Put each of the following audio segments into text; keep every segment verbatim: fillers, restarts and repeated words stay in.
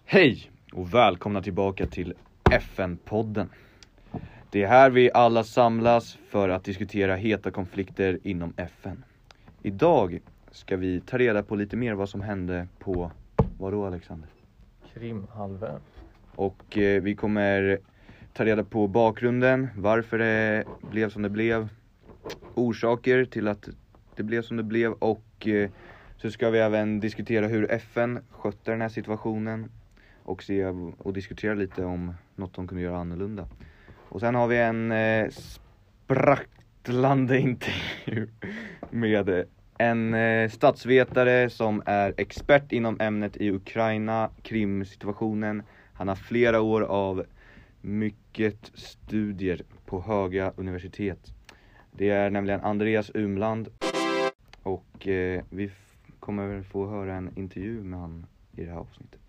Hej och välkomna tillbaka till F N-podden. Det är här vi alla samlas för att diskutera heta konflikter inom F N. Idag ska vi ta reda på lite mer vad som hände på, vad då Alexander? Krimhalvön. Och eh, vi kommer ta reda på bakgrunden, varför det blev som det blev, orsaker till att det blev som det blev och eh, så ska vi även diskutera hur F N skötte den här situationen och se och diskutera lite om något de kunde göra annorlunda. Och sen har vi en eh, sprattlande intervju med en eh, statsvetare som är expert inom ämnet i Ukraina, Krim-situationen. Han har flera år av mycket studier på höga universitet. Det är nämligen Andreas Umland och eh, vi f- kommer få höra en intervju med han i det här avsnittet.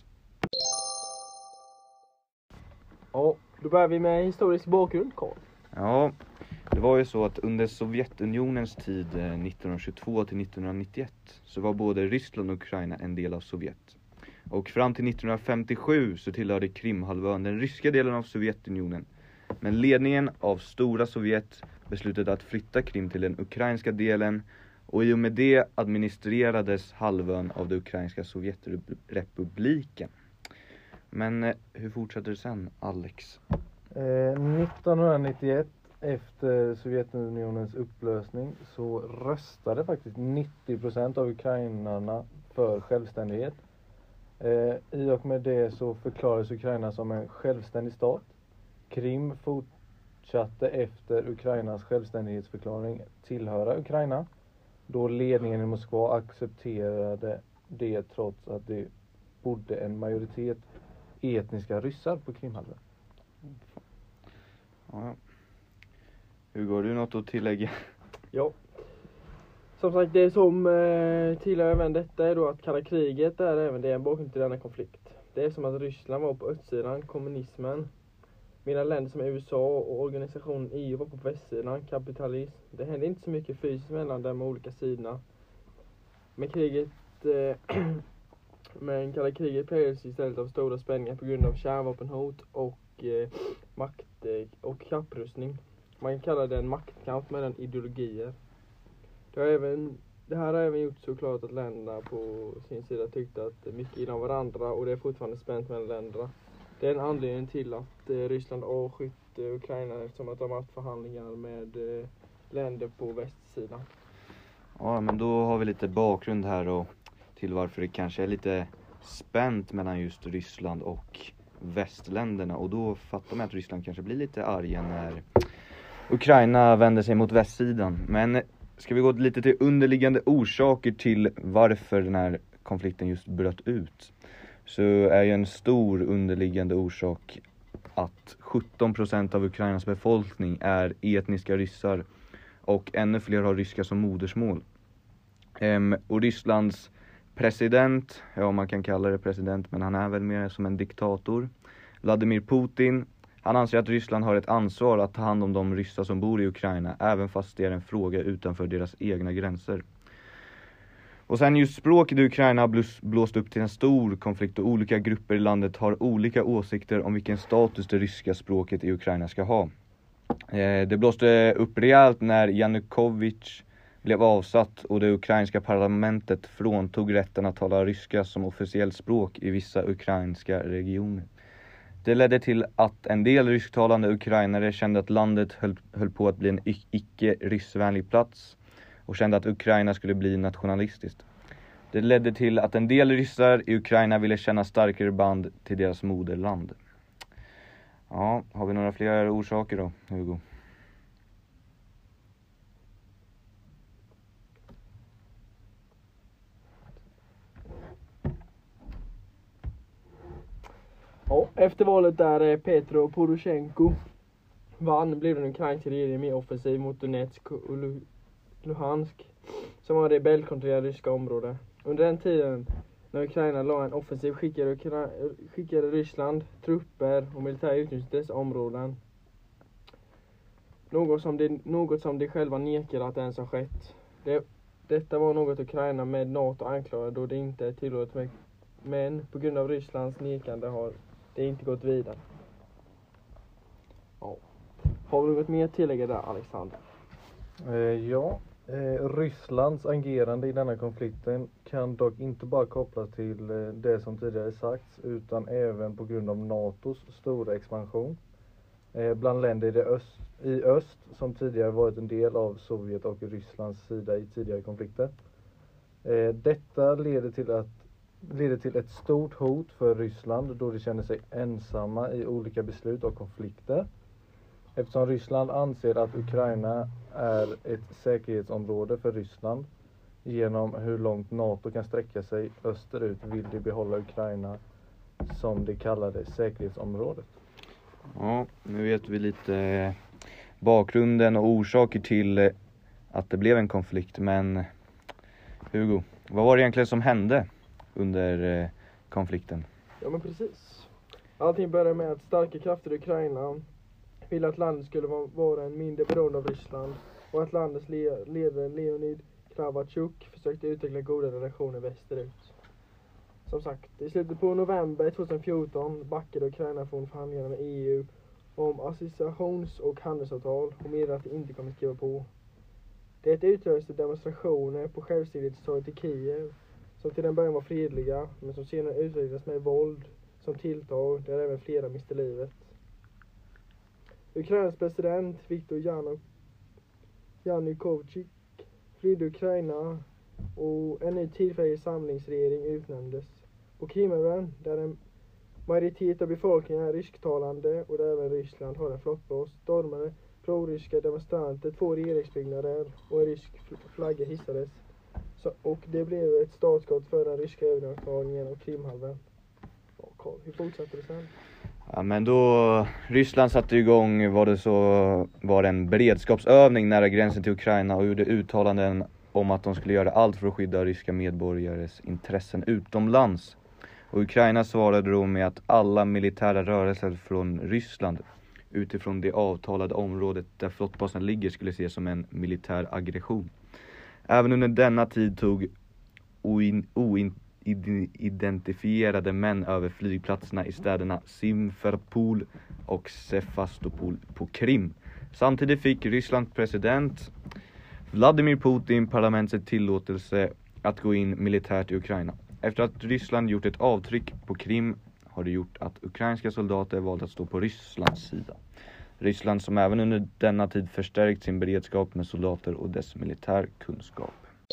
Ja, då börjar vi med historisk bakgrund, Carl. Ja, det var ju så att under Sovjetunionens tid eh, nittonhundratjugotvå till nittonhundranittioett så var både Ryssland och Ukraina en del av Sovjet. Och fram till nittonhundrafemtiosju så tillhörde Krimhalvön den ryska delen av Sovjetunionen. Men ledningen av Stora Sovjet beslutade att flytta Krim till den ukrainska delen och i och med det administrerades halvön av det ukrainska Sovjetrepubliken. Men eh, hur fortsätter det sen, Alex? Eh, nittonhundranittioett, efter Sovjetunionens upplösning, så röstade faktiskt nittio procent av ukrainarna för självständighet. Eh, I och med det så förklarades Ukraina som en självständig stat. Krim fortsatte efter Ukrainas självständighetsförklaring tillhöra Ukraina, då ledningen i Moskva accepterade det trots att det bodde en majoritet etniska ryssar på Krimhalvön. Ja. Hur går du något att tillägga? Ja. Som sagt, det som eh, tillhör även detta är då att kalla kriget är även det en bakgrund till denna konflikt. Det är som att Ryssland var på östsidan, kommunismen, medan länder som U S A och organisationen E U var på västsidan, kapitalism. Det hände inte så mycket fysiskt mellan de olika sidorna. Men kriget eh, Men kalla kriget präglades istället av stora spänningar på grund av kärnvapenhot och eh, makt eh, och kapprustning. Man kan kalla det en maktkamp mellan ideologier. Det, har även, det här har även gjort så klart att länderna på sin sida tyckte att mycket inom varandra och det är fortfarande spänt mellan länderna. Det är en anledning till att eh, Ryssland avskytt eh, Ukraina eftersom att de har haft förhandlingar med eh, länder på västsidan. Ja, men då har vi lite bakgrund här och till varför det kanske är lite spänt mellan just Ryssland och västländerna. Och då fattar man att Ryssland kanske blir lite arga när Ukraina vänder sig mot västsidan. Men ska vi gå lite till underliggande orsaker till varför den här konflikten just bröt ut, så är ju en stor underliggande orsak att sjutton procent av Ukrainas befolkning är etniska ryssar och ännu fler har ryska som modersmål. Ehm, och Rysslands president, ja man kan kalla det president men han är väl mer som en diktator, Vladimir Putin, han anser att Ryssland har ett ansvar att ta hand om de ryssar som bor i Ukraina även fast det är en fråga utanför deras egna gränser. Och sen just språket i Ukraina har blåst upp till en stor konflikt och olika grupper i landet har olika åsikter om vilken status det ryska språket i Ukraina ska ha. Eh, det blåste upp rejält när Janukovyč blev avsatt och det ukrainska parlamentet fråntog rätten att tala ryska som officiellt språk i vissa ukrainska regioner. Det ledde till att en del rysktalande ukrainare kände att landet höll, höll på att bli en icke-ryssvänlig plats och kände att Ukraina skulle bli nationalistiskt. Det ledde till att en del ryssar i Ukraina ville känna starkare band till deras moderland. Ja, har vi några fler orsaker då, Hugo? Ja, efter valet där Petro Poroshenko vann blev den ukrainska regeringen mer offensiv mot Donetsk och Luhansk som var rebellkontrollerade ryska områden. Under den tiden när Ukraina la en offensiv skickade, Ukra- skickade Ryssland trupper och militär utnyttjade dessa områden. Något som, de, något som de själva nekade att ens ha skett. Det, detta var något Ukraina med NATO anklagade då det inte är tillåtet med Men på grund av Rysslands nekande har det inte gått vidare. Ja. Har du något mer att tillägga där, Alexander? Eh, ja, eh, Rysslands agerande i denna konflikten kan dock inte bara kopplas till eh, det som tidigare sagts, utan även på grund av NATOs stora expansion eh, bland länder i, det öst, i öst som tidigare varit en del av Sovjet och Rysslands sida i tidigare konflikter. Eh, detta leder till, att, leder till ett stort hot för Ryssland då de känner sig ensamma i olika beslut och konflikter. Eftersom Ryssland anser att Ukraina är ett säkerhetsområde för Ryssland genom hur långt NATO kan sträcka sig österut vill de behålla Ukraina som de kallar det säkerhetsområdet. Ja, nu vet vi lite bakgrunden och orsaker till att det blev en konflikt. Men Hugo, vad var det egentligen som hände under konflikten? Ja, men precis. Allting började med att starka krafter i Ukraina ville att landet skulle vara en mindre beroende av Ryssland och att landets le- ledare Leonid Kravchuk försökte utveckla goda relationer västerut. Som sagt, i slutet på november tjugohundrafjorton backade Ukraina från förhandlingarna med E U om associations- och handelsavtal och meddelade att det inte kommer skriva på. Det utlöste demonstrationer på självständighetstorget i Kiev som till den början var fredliga men som senare utvecklades med våld som tilltag där även flera miste livet. Ukrainas president Viktor Yanu- Yanukovych flydde Ukraina och en ny tillfällig samlingsregering utnämndes. På Krimhalvön, där en majoritet av befolkningen är rysktalande och där även Ryssland har en flottbas, stormade pro-ryska demonstranter två regeringsbyggnader och en rysk flagga hissades. Så, och det blev ett startskott för den ryska övertagningen av Krimhalvön. Ja, Carl, hur fortsatte det sen? Ja, men då Ryssland satte igång var det så var det en beredskapsövning nära gränsen till Ukraina och gjorde uttalanden om att de skulle göra allt för att skydda ryska medborgares intressen utomlands. Och Ukraina svarade då med att alla militära rörelser från Ryssland utifrån det avtalade området där flottbasen ligger skulle ses som en militär aggression. Även under denna tid tog oin, oin, identifierade män över flygplatserna i städerna Simferopol och Sevastopol på Krim. Samtidigt fick Rysslands president Vladimir Putin parlamentets tillåtelse att gå in militärt i Ukraina. Efter att Ryssland gjort ett avtryck på Krim har det gjort att ukrainska soldater valt att stå på Rysslands sida. Ryssland som även under denna tid förstärkt sin beredskap med soldater och dess militärkunskap.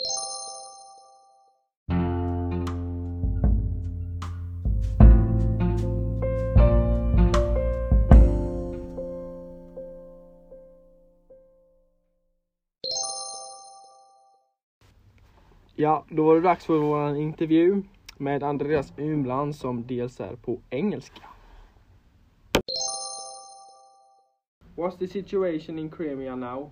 Ja, då var det dags för vår intervju med Andreas Umland som dels är på engelska. What's the situation in Crimea now?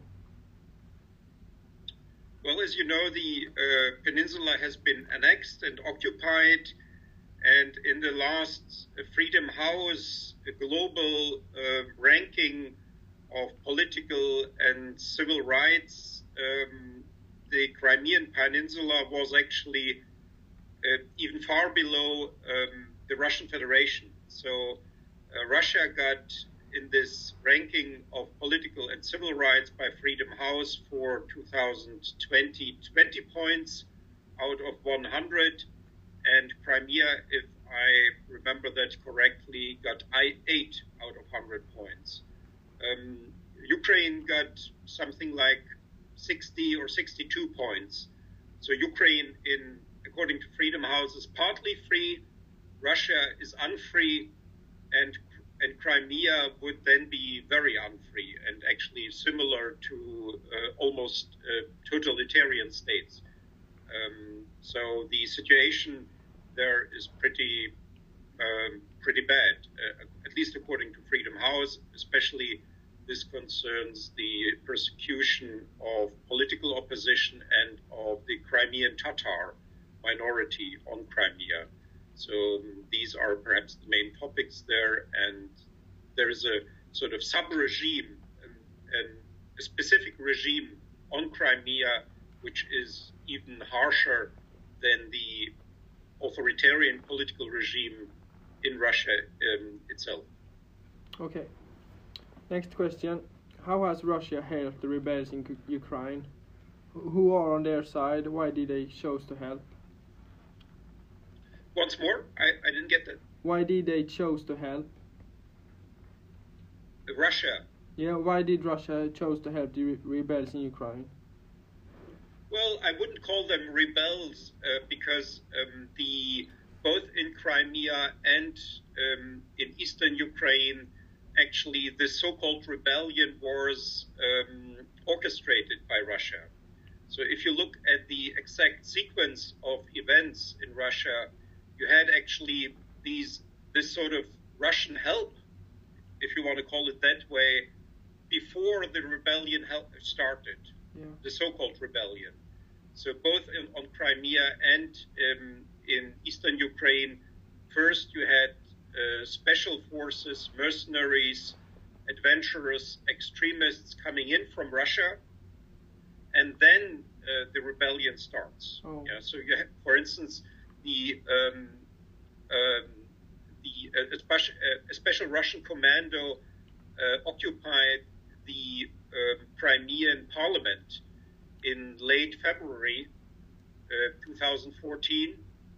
Well, as you know, the uh, peninsula has been annexed and occupied, and in the last uh, Freedom House a global uh, ranking of political and civil rights, um, the Crimean Peninsula was actually uh, even far below um, the Russian Federation. So uh, Russia got in this ranking of political and civil rights by Freedom House for two thousand twenty, twenty points out of one hundred, and Crimea, if I remember that correctly, got eight out of one hundred points. Um, Ukraine got something like sixty or sixty-two points. So Ukraine, in according to Freedom House, is partly free, Russia is unfree, and and Crimea would then be very unfree and actually similar to uh, almost uh, totalitarian states. Um, so the situation there is pretty um, pretty bad, uh, at least according to Freedom House. Especially this concerns the persecution of political opposition and of the Crimean Tatar minority on Crimea. So um, these are perhaps the main topics there, and there is a sort of sub-regime, um, and a specific regime on Crimea, which is even harsher than the authoritarian political regime in Russia um, itself. Okay. Next question. How has Russia helped the rebels in U- Ukraine? Who are on their side? Why did they choose to help? Once more, I, I didn't get that. Why did they choose to help? Russia. Yeah, why did Russia chose to help the re- rebels in Ukraine? Well, I wouldn't call them rebels uh, because um, the both in Crimea and um, in eastern Ukraine, actually, the so-called rebellion was um, orchestrated by Russia. So if you look at the exact sequence of events in Russia, you had actually these this sort of Russian help, if you want to call it that way, before the rebellion help started, Yeah. the so-called rebellion. So both in, on Crimea and um, in eastern Ukraine, first you had uh, special forces, mercenaries, adventurers, extremists coming in from Russia, and then uh, the rebellion starts. Oh. Yeah, so you have, for instance, the um, um, the uh, a, special, uh, a special Russian commando uh, occupied the uh, Crimean parliament in late February uh, two thousand fourteen.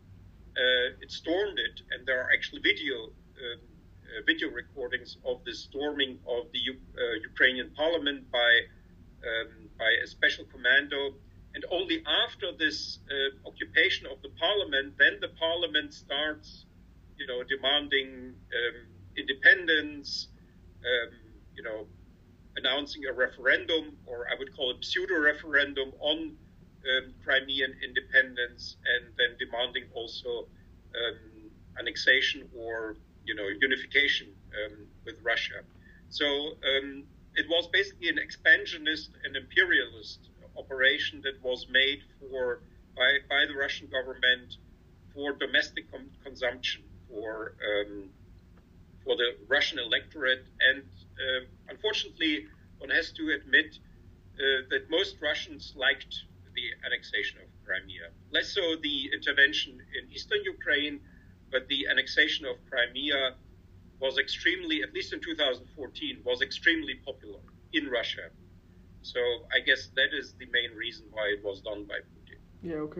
Uh, it stormed it, and there are actually video uh, uh, video recordings of the storming of the U- uh, Ukrainian parliament by um, by a special commando. And only after this uh, occupation of the parliament, then the parliament starts, you know, demanding um, independence, um, you know, announcing a referendum, or I would call it pseudo-referendum on um, Crimean independence, and then demanding also um, annexation or, you know, unification um, with Russia. So um, it was basically an expansionist and imperialist operation that was made for by, by the Russian government for domestic com- consumption, for um, for the Russian electorate, and uh, unfortunately, one has to admit uh, that most Russians liked the annexation of Crimea. Less so the intervention in eastern Ukraine, but the annexation of Crimea was extremely, at least in two thousand fourteen, was extremely popular in Russia. So I guess that is the main reason why it was done by Putin. Yeah, okay.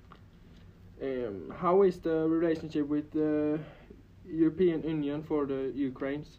Um, how is the relationship with the European Union for the Ukrainians?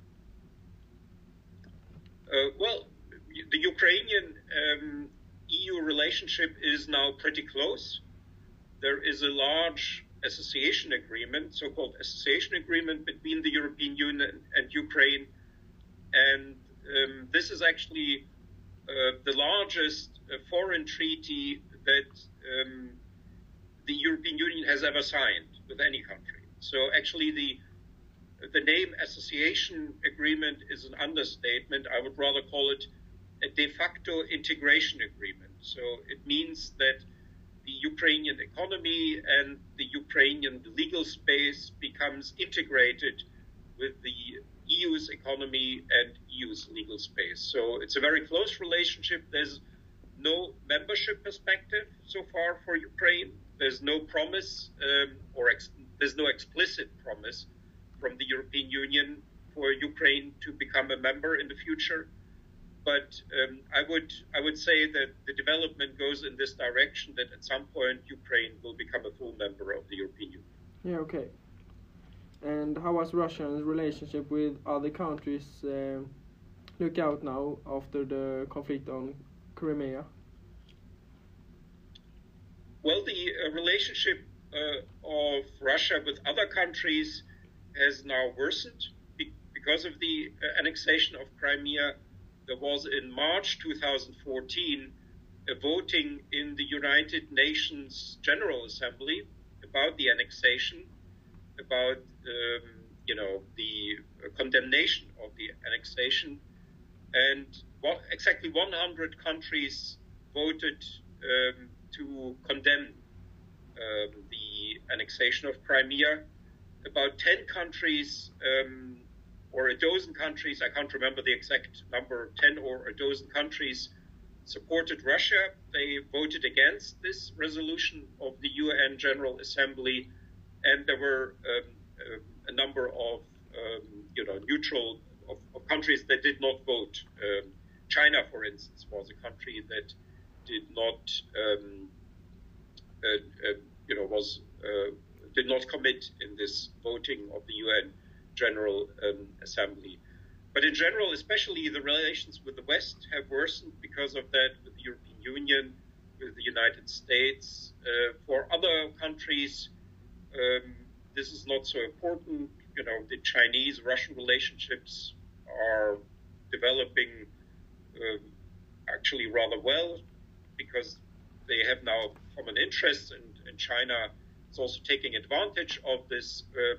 Uh, well, the Ukrainian um, E U relationship is now pretty close. There is a large association agreement, so-called association agreement between the European Union and Ukraine. And um, this is actually uh, the largest uh, foreign treaty that um, the European Union has ever signed with any country. So actually the the name association agreement is an understatement. I would rather call it a de facto integration agreement. So it means that the Ukrainian economy and the Ukrainian legal space becomes integrated with the E U's economy and E U's legal space. So it's a very close relationship. There's no membership perspective so far for Ukraine. There's no promise um, or ex- there's no explicit promise from the European Union for Ukraine to become a member in the future. But um, I would I would say that the development goes in this direction, that at some point Ukraine will become a full member of the European Union. Yeah, okay. And how has Russia's relationship with other countries um, look out now after the conflict on Crimea? Well, the uh, relationship uh, of Russia with other countries has now worsened be- because of the uh, annexation of Crimea. There was in March two thousand fourteen a voting in the United Nations General Assembly about the annexation, about um, you know the uh, condemnation of the annexation, and what, exactly one hundred countries voted um, to condemn um, the annexation of Crimea. About ten countries, um, or a dozen countries, I can't remember the exact number, ten or a dozen countries, supported Russia. They voted against this resolution of the U N General Assembly, and there were um, a number of um, you know neutral of, of countries that did not vote. Um, China, for instance, was a country that did not um, uh, uh, you know was uh, did not commit in this voting of the U N General um, Assembly. But in general, especially the relations with the West have worsened because of that, with the European Union, with the United States. Uh, for other countries, um, this is not so important. You know, the Chinese-Russian relationships are developing um, actually rather well because they have now common interests, and, and China is also taking advantage of this um,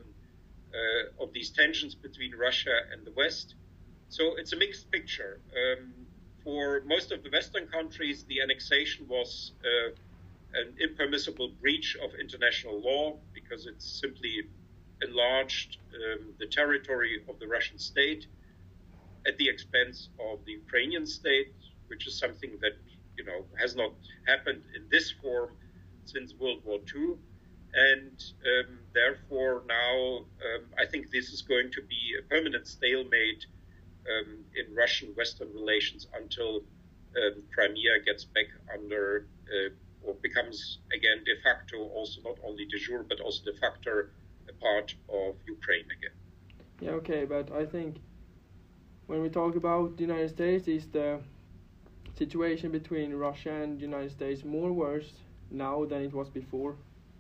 uh, of these tensions between Russia and the West. So it's a mixed picture. Um, for most of the Western countries, the annexation was uh, an impermissible breach of international law because it simply enlarged um, the territory of the Russian state at the expense of the Ukrainian state, which is something that you know has not happened in this form since World War Two. And um, therefore now um, I think this is going to be a permanent stalemate Um, in Russian-Western relations until um, Crimea gets back under uh, or becomes again de facto, also not only de jure but also de facto, a part of Ukraine again. Yeah, okay, but I think when we talk about the United States, is the situation between Russia and the United States more worse now than it was before?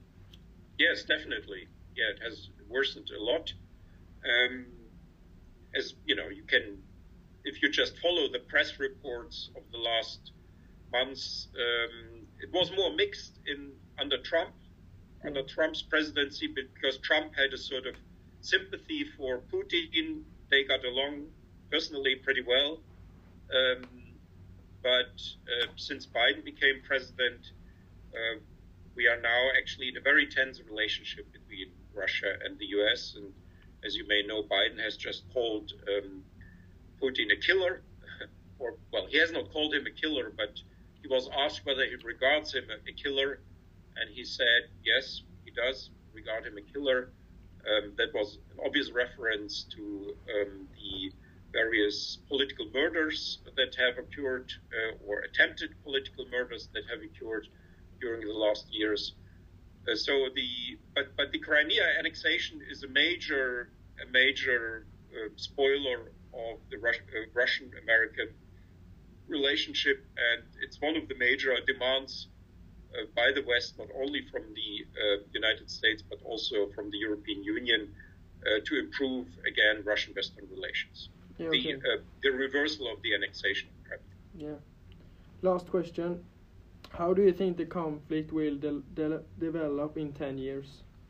Yes, definitely. Yeah, it has worsened a lot. Um, As you know, you can, if you just follow the press reports of the last months, um, it was more mixed in under Trump, under Trump's presidency, because Trump had a sort of sympathy for Putin. They got along personally pretty well. Um, but uh, since Biden became president, uh, we are now actually in a very tense relationship between Russia and the U S, and as you may know, Biden has just called um, Putin a killer, or well, he has not called him a killer, but he was asked whether he regards him a, a killer, and he said, yes, he does regard him a killer. Um, that was an obvious reference to um, the various political murders that have occurred, uh, or attempted political murders that have occurred during the last years. Uh, so the but but the Crimea annexation is a major a major uh, spoiler of the Rus- uh, Russian-American relationship, and it's one of the major demands uh, by the West, not only from the uh, United States but also from the European Union, uh, to improve again Russian-Western relations. Yeah, the okay. uh, the reversal of the annexation of Crimea. Yeah. Last question. How do you think the conflict will de- de- develop in ten years?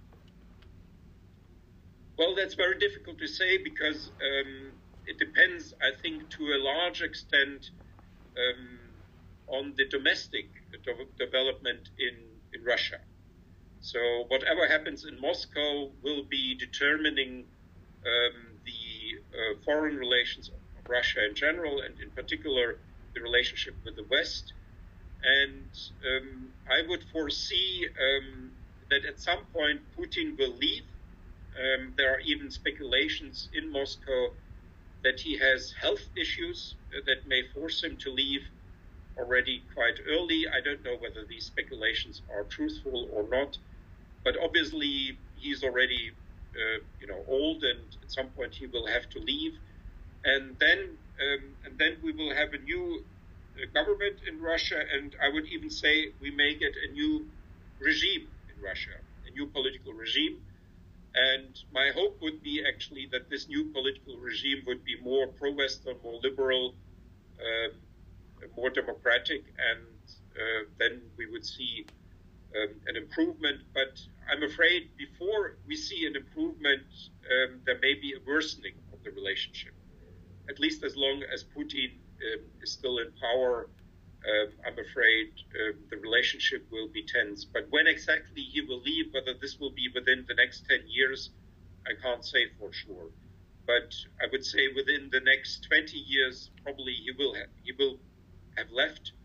Well, that's very difficult to say because um, it depends, I think, to a large extent um, on the domestic de- development in, in Russia. So whatever happens in Moscow will be determining um, the uh, foreign relations of Russia in general, and in particular the relationship with the West. And um, I would foresee um, that at some point Putin will leave. Um, there are even speculations in Moscow that he has health issues that may force him to leave already quite early. I don't know whether these speculations are truthful or not, but obviously he's already uh, you know old, and at some point he will have to leave. And then um, and then we will have a new government in Russia, and I would even say we may get a new regime in Russia, a new political regime. And my hope would be actually that this new political regime would be more pro-Western, more liberal, uh, more democratic, and uh, then we would see um, an improvement. But I'm afraid before we see an improvement, um, there may be a worsening of the relationship, at least as long as Putin Um, is still in power. um, I'm afraid uh, the relationship will be tense. But when exactly he will leave, whether this will be within the next ten years, I can't say for sure. But I would say within the next twenty years, probably he will have, he will have left.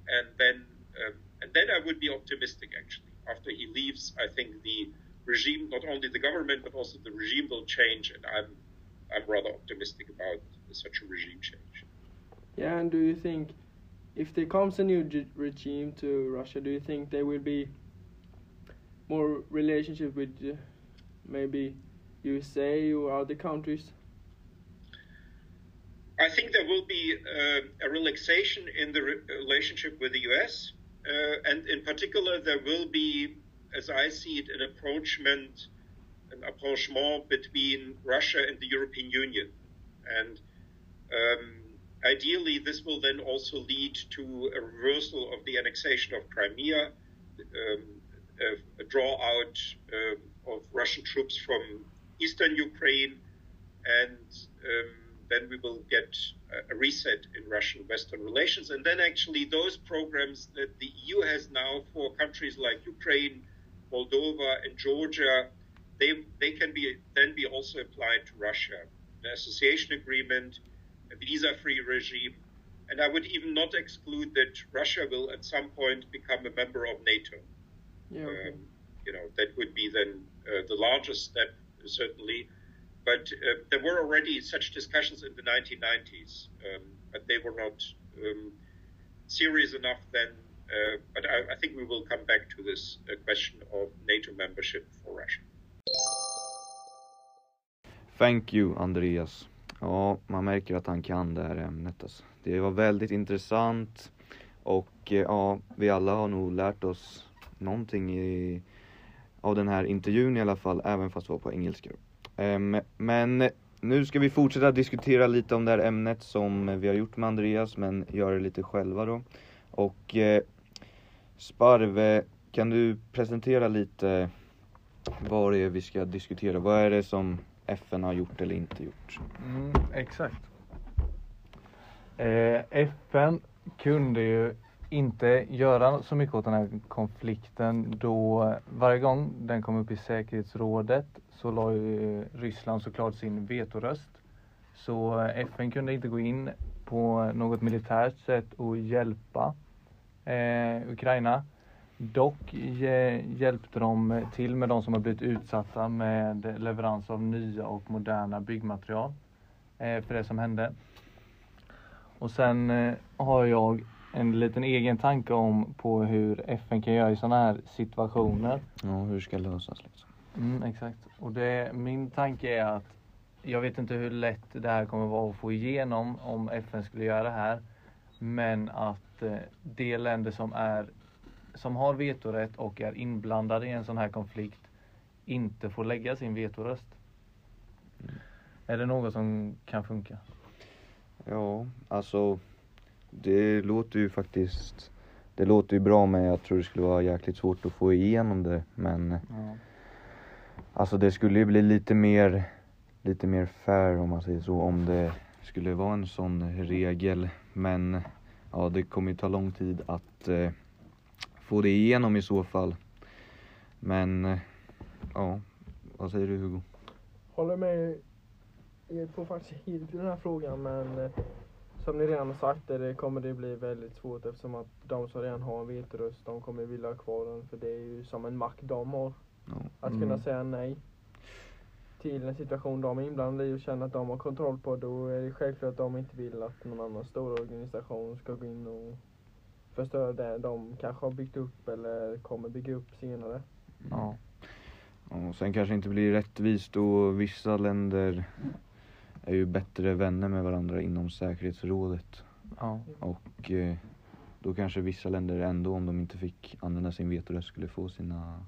and then um, and then I would be optimistic actually. After he leaves, I think the regime, not only the government but also the regime, will change, and I'm I'm rather optimistic about such a regime change. Yeah, and do you think if there comes a new g- regime to Russia, do you think there will be more relationship with uh, maybe U S A or other countries? I think there will be uh, a relaxation in the re- relationship with the U S, uh, and in particular there will be, as I see it, an approachment, an approachment between Russia and the European Union. And um, ideally this will then also lead to a reversal of the annexation of Crimea, um, a, a draw out uh, of Russian troops from eastern Ukraine, and um, then we will get a reset in Russian-Western relations. And then actually those programs that the E U has now for countries like Ukraine, Moldova, and Georgia, they they can be then be also applied to Russia. An association agreement, a visa-free regime, and I would even not exclude that Russia will at some point become a member of NATO. Yeah, okay. Um, you know, that would be then uh, the largest step, certainly. But uh, there were already such discussions in the nineteen nineties, um, but they were not um, serious enough then. Uh, but I, I think we will come back to this uh, question of NATO membership for Russia. Thank you, Andreas. Ja, man märker att han kan det här ämnet. Alltså. Det var väldigt intressant och eh, ja, vi alla har nog lärt oss någonting i, av den här intervjun i alla fall, även fast det var på engelska. Um, men nu ska vi fortsätta diskutera lite om det här ämnet som vi har gjort med Andreas, men göra det lite själva då. Och eh, Sparve, kan du presentera lite vad det är vi ska diskutera? Vad är det som F N har gjort eller inte gjort? Mm, exakt. Eh, F N kunde ju inte göra så mycket åt den här konflikten, då varje gång den kom upp i säkerhetsrådet så la ju Ryssland såklart sin vetoröst. Så F N kunde inte gå in på något militärt sätt och hjälpa eh, Ukraina. Dock eh, hjälpte de till med de som har blivit utsatta med leverans av nya och moderna byggmaterial eh, för det som hände. Och sen eh, har jag en liten egen tanke om på hur F N kan göra i sådana här situationer. Ja, hur ska det lösas liksom? Mm, exakt. Och det, min tanke är att jag vet inte hur lätt det här kommer vara att få igenom om F N skulle göra det här. Men att eh, de länder som är som har vetorätt och är inblandade i en sån här konflikt inte får lägga sin vetoröst. Mm. Är det något som kan funka? Ja, alltså det låter ju faktiskt det låter ju bra, men jag tror det skulle vara jäkligt svårt att få igenom det, men ja. Alltså det skulle ju bli lite mer lite mer fair om man säger så, om det skulle vara en sån regel, men ja, det kommer ju ta lång tid att eh, få det igenom i så fall. Men eh, ja, vad säger du, Hugo? Håller med. Jag tror faktiskt helt i den här frågan, men eh, som ni redan har sagt det kommer det bli väldigt svårt, eftersom att de som redan har en vetoröst, de kommer vilja ha kvar den, för det är ju som en makt de har. Ja. Att Mm. kunna säga nej till en situation de är inblandade i och känna att de har kontroll på, då är det självklart att de inte vill att någon annan stor organisation ska gå in och förstöra det de kanske har byggt upp eller kommer bygga upp senare. Ja. Och sen kanske inte blir rättvist, och vissa länder är ju bättre vänner med varandra inom säkerhetsrådet. Ja. Och eh, då kanske vissa länder ändå, om de inte fick använda sin vetoröst, skulle få sina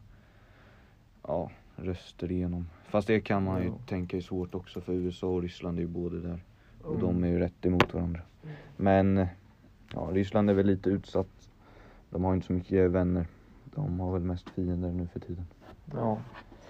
ja, röster igenom. Fast det kan man ju Jo. tänka är svårt också, för U S A och Ryssland är ju både där. Och Mm. de är ju rätt emot varandra. Men ja, Ryssland är väl lite utsatt. De har inte så mycket vänner. De har väl mest fiender nu för tiden. Ja.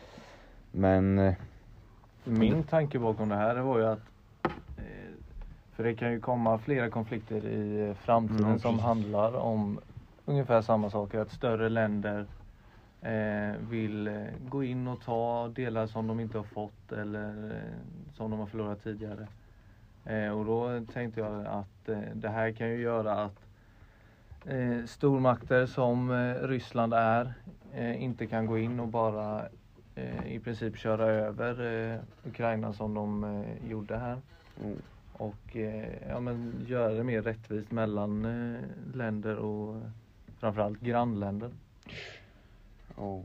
Men eh, Min tanke bakom det här var ju att eh, för det kan ju komma flera konflikter i framtiden Mm, som precis. handlar om ungefär samma saker. Att större länder eh, vill eh, gå in och ta delar som de inte har fått eller eh, som de har förlorat tidigare. Eh, och då tänkte jag att eh, det här kan ju göra att eh, stormakter som eh, Ryssland är eh, inte kan gå in och bara eh, i princip köra över eh, Ukraina som de eh, gjorde här. Mm. Och eh, ja, men göra det mer rättvist mellan eh, länder och eh, framförallt grannländer. Ja.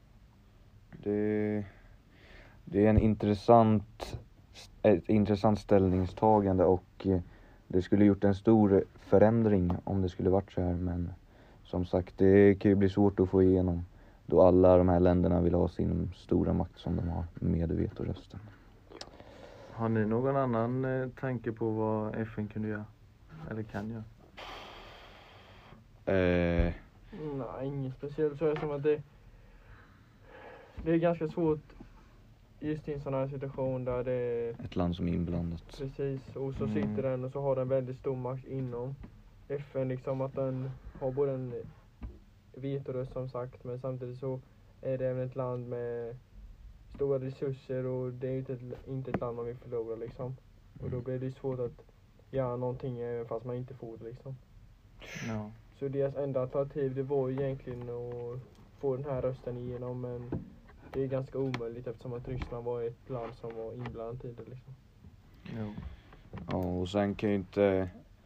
Det, det är en intressant, ett intressant ställningstagande och eh, det skulle gjort en stor förändring om det skulle varit så här, men som sagt, det kan ju bli svårt att få igenom då alla de här länderna vill ha sin stora makt som de har med vetorösten. Har ni någon annan eh, tanke på vad F N kunde göra? Eller kan göra? Eh, Nej, inget speciellt. Så är det som att det, det är ganska svårt just i en sån här situation där det ett land som är inblandat. precis, och så Mm. sitter den och så har den väldigt stor makt inom F N, liksom att den har både en vetoröst som sagt, men samtidigt så är det även ett land med stora resurser och det är inte ett, inte ett land man vill förlora liksom. Och då blir det svårt att göra någonting även fast man inte får det liksom. Ja. Så deras enda alternativ det var ju egentligen att få den här rösten igenom, men det är ganska omöjligt eftersom att Ryssland var ett land som var inblandat i det liksom. Jo. Ja, och sen kan ju inte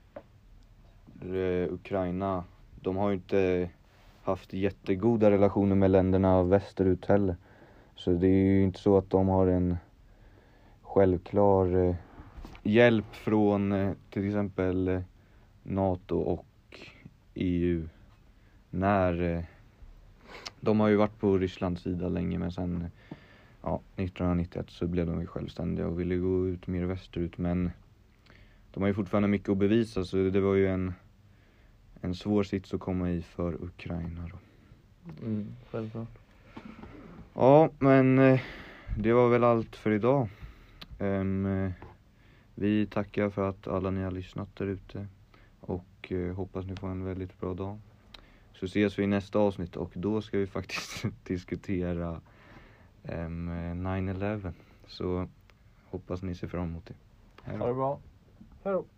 eh, Ukraina, de har ju inte haft jättegoda relationer med länderna västerut heller. Så det är ju inte så att de har en självklar eh, hjälp från eh, till exempel eh, NATO och E U när eh, de har ju varit på Rysslands sida länge, men sen eh, ja, nittonhundranittioett så blev de ju självständiga och ville gå ut mer västerut, men de har ju fortfarande mycket att bevisa, så det var ju en en svår sits att komma i för Ukraina då. Mm, självklart. Ja, men eh, det var väl allt för idag. Um, eh, vi tackar för att alla ni har lyssnat där ute och eh, hoppas ni får en väldigt bra dag. Så ses vi i nästa avsnitt och då ska vi faktiskt diskutera um, nine eleven. Så hoppas ni ser fram emot det. Hej då. Ha det bra. Hej då.